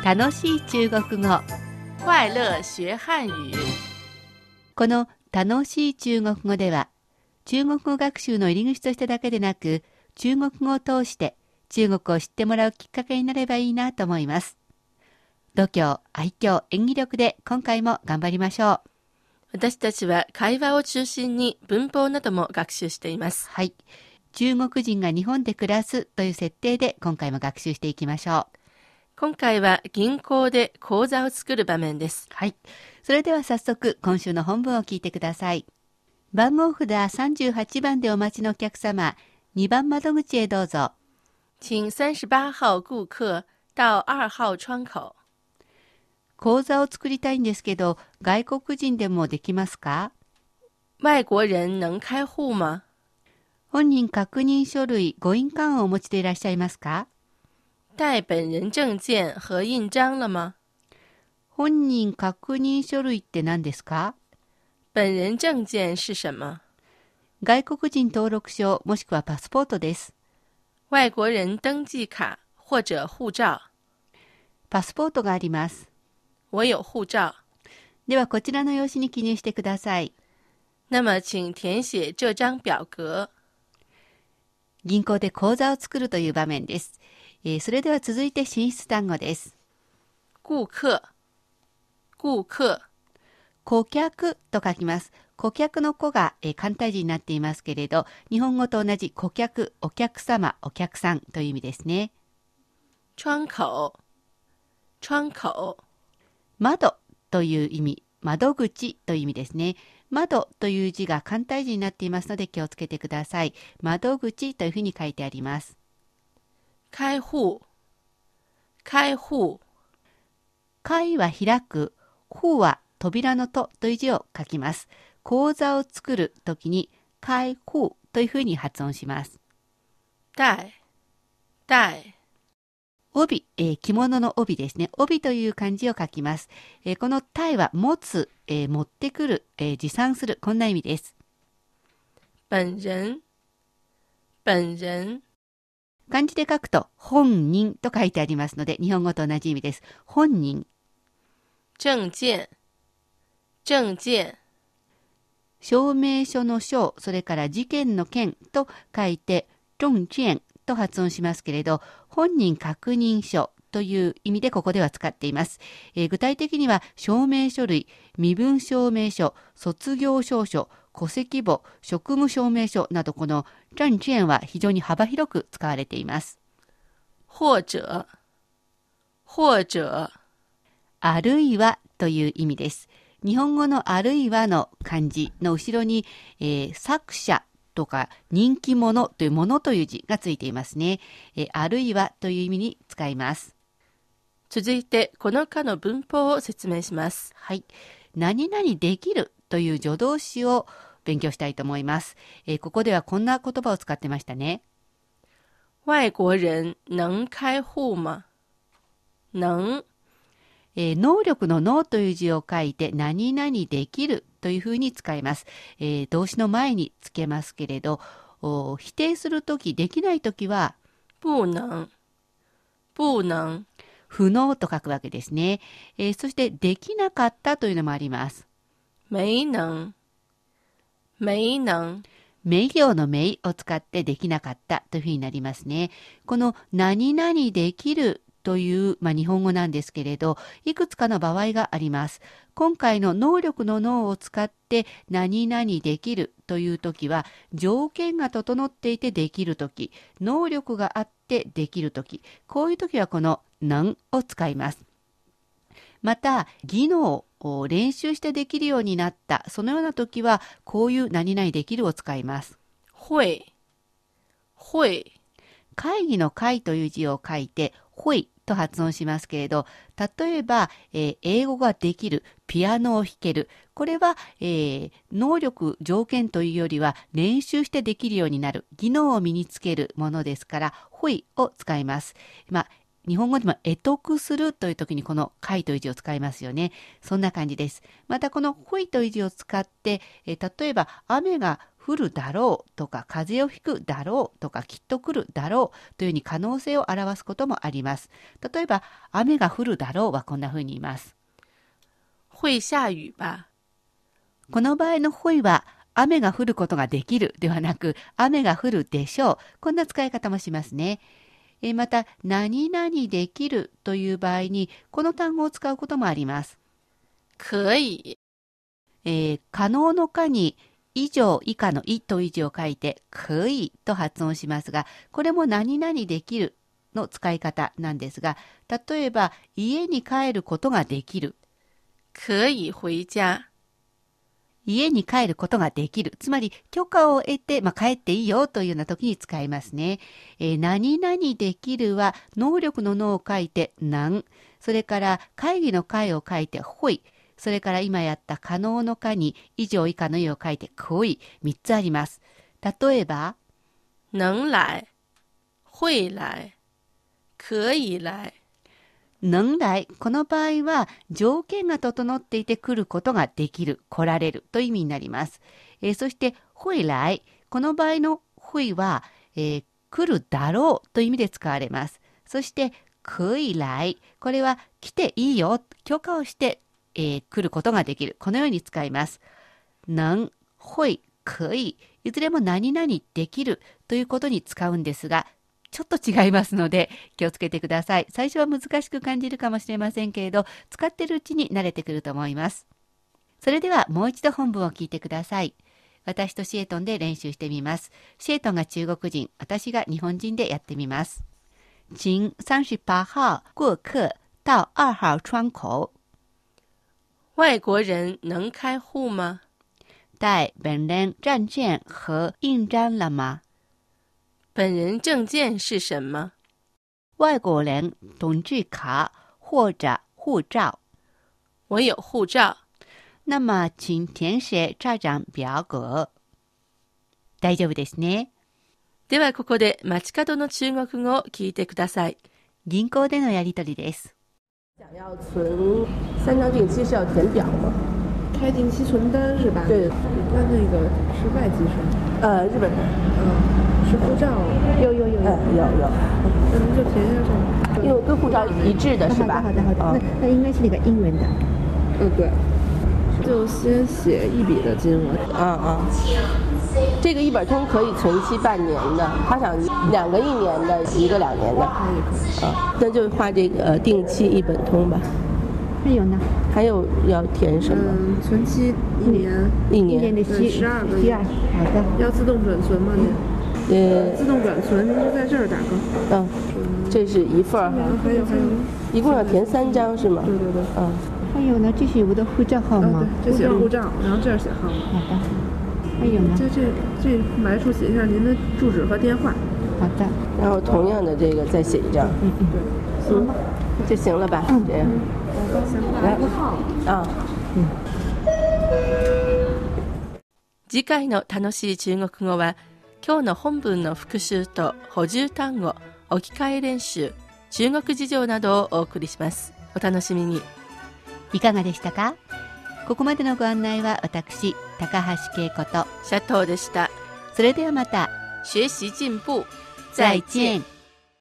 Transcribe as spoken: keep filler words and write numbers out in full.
楽しい中国語。 快乐学汉语。 この楽しい中国語では、中国語学習の入り口としてだけでなく、中国語を通して中国を知ってもらうきっかけになればいいなと思います。度胸、愛嬌、演技力で今回も頑張りましょう。 私たちは会話を中心に文法なども学習しています。 はい。中国人が日本で暮らすという設定で今回も学習していきましょう。 今回は銀行で口座を作る場面です。 はい。それでは早速今週の本文を聞いてください。番号札さんじゅうはちばんでお待ちのお客様、にばん窓口へどうぞ。 請三十八号顾客到二号窗口。 口座を作りたいんですけど、外国人でもできますか？ 外国人能開户吗？ 本人確認書類、ご印鑑をお持ちでいらっしゃいますか？ 带本人证件和印章了吗？ 本人確認書類って何ですか？ 本人证件是什么？ 外国人登録証もしくはパスポートです。 外国人登記卡或者護照。 パスポートがあります。 我有護照。 ではこちらの用紙に記入してください。 那么请填写这张表格。 銀行で口座を作るという場面です。えー、それでは続いて進出単語です。 顧客、顧客。 顧客と書きます。顧客の子が、えー、簡体字になっていますけれど、日本語と同じ顧客、お客様、お客さんという意味ですね。 窗口、窗口。 窓という意味、窓口という意味ですね。窓という字が簡体字になっていますので気をつけてください。窓口というふうに書いてあります。 開户、開户。 開は開く、户は扉の戸という字を書きます。口座を作るときに開户というふうに発音します。 带、带。 帯、えー、着物の帯ですね。帯という漢字を書きます。えー、この帯は持つ、えー、持ってくる、えー、持参する、こんな意味です。 本人、本人。 漢字で書くと本人と書いてありますので、日本語と同じ意味です。本人。 证件、证件。 証明書の証、それから事件の件と書いて证件と発音しますけれど、本人確認書という意味でここでは使っています。えー、具体的には証明書類、身分証明書、卒業証書、戸籍簿、職務証明書など、この证件は非常に幅広く使われています。 或者、或者。 あるいはという意味です。日本語のあるいはの漢字の後ろに、えー、作者とか人気者というものという字がついていますね。えー、あるいはという意味に使います。 続いてこの課の文法を説明します。 はい。何々できるという助動詞を勉強したいと思います。えー、ここではこんな言葉を使ってましたね。 外国人能開户吗？能。 えー、能力の能という字を書いて何々できるというふうに使います。えー、動詞の前につけますけれど、否定するとき、できないときは不能、不能。 不能と書くわけですね。えー、そしてできなかったというのもあります。 没能、没能。 名行の名を使ってできなかったというふうになりますね。この何々できるという、まあ、日本語なんですけれど、いくつかの場合があります。今回の能力の能を使って何々できるというときは、条件が整っていてできるとき、能力があってできるとき、こういうときはこの能を使います。また、技能を練習してできるようになった、そのようなときは、こういう何々できるを使います。 会、会。 会議の会という字を書いて、ほいと発音しますけれど、例えば、えー、英語ができる、ピアノを弾ける。これは、えー、能力、条件というよりは練習してできるようになる、技能を身につけるものですから、ほいを使います。まあ、日本語でも得得するという時にこの会という字を使いますよね。そんな感じです。またこのほいという字を使って、えー、例えば雨が降降るだろうとか風邪をひくだろうとかきっと来るだろうというふうに可能性を表すこともあります。例えば雨が降るだろうはこんなふうに言います。 会下雨吧。 この場合の会は雨が降ることができるではなく雨が降るでしょう。こんな使い方もしますね。えまた何々できるという場合にこの単語を使うこともあります。 可以。 えー、可能の可に以上以下のいという字を書いて可以と発音しますが、これも何々できるの使い方なんですが、例えば家に帰ることができる。 可以回家。 家に帰ることができる。つまり許可を得て、まあ、帰っていいよというような時に使いますね。えー、何々できるは能力の能を書いて能。それから会議の会を書いて会。それから今やった可能の可に以上以下の意を書いて可以。みっつあります。例えば、 能来、会来、可以来。 能来、この場合は条件が整っていて来ることができる、来られるという意味になります。えー、そして会来、この場合の会は、えー、来るだろうという意味で使われます。そして可以来、これは来ていいよ、許可をして、えー、来ることができる、このように使います。能、会、可以、いずれも何々できるということに使うんですが、ちょっと違いますので気をつけてください。最初は難しく感じるかもしれませんけれど、使っているうちに慣れてくると思います。それではもう一度本文を聞いてください。私とシエトンで練習してみます。シエトンが中国人、私が日本人でやってみます。请三十八号过客到二号窗口。 外国人能开户吗？ 带本人证件和印章了吗？ 本人证件是什么？ 外国人统计卡或者护照。 我有护照。 那么请填写这张表格。大丈夫ですね。 ではここで街角の中国語を聞いてください。 銀行でのやり取りです。 想要存三张定期是要填表吗？ 开定期存单是吧？ 对， 那那个是外籍生？ 呃，日本人。 嗯，是护照。有有有有。 呃，有有。 那您就填一下这个。 因为跟护照一致的是吧？ 好的好的好的。那那应该是那个英文的。嗯，对。就先写一笔的金额。 嗯嗯。这个一本通可以存期半年的，他想两个一年的，一个两年的。 可以可以。 啊，那就画这个定期一本通吧。 还有呢？ 还有要填什么？ 嗯，存期一年。 一年。 一年的期十二个月。好的。要自动转存吗您？ 呃， 自动转存，您就在这儿打个。 嗯，这是一份儿哈。 还有还有。 一共要填三张是吗？ 对对对。 嗯。 还有呢，这是我的护照号码。 这写护照，然后这儿写号码。 好的。还有呢？ 这这这来处写一下您的住址和电话。 好的。 然后同样的这个再写一张。 嗯嗯。 对。行吗？ 就行了吧？ 嗯。 这样。 来个号。 啊。 嗯。 次回の楽しい中国語は、今日の本文の復習と補充単語、置き換え練習、中国事情などをお送りします。お楽しみに。 いかがでしたか？ここまでのご案内は私、高橋恵子とシャトーでした。 それではまた。 学習進步。 再見。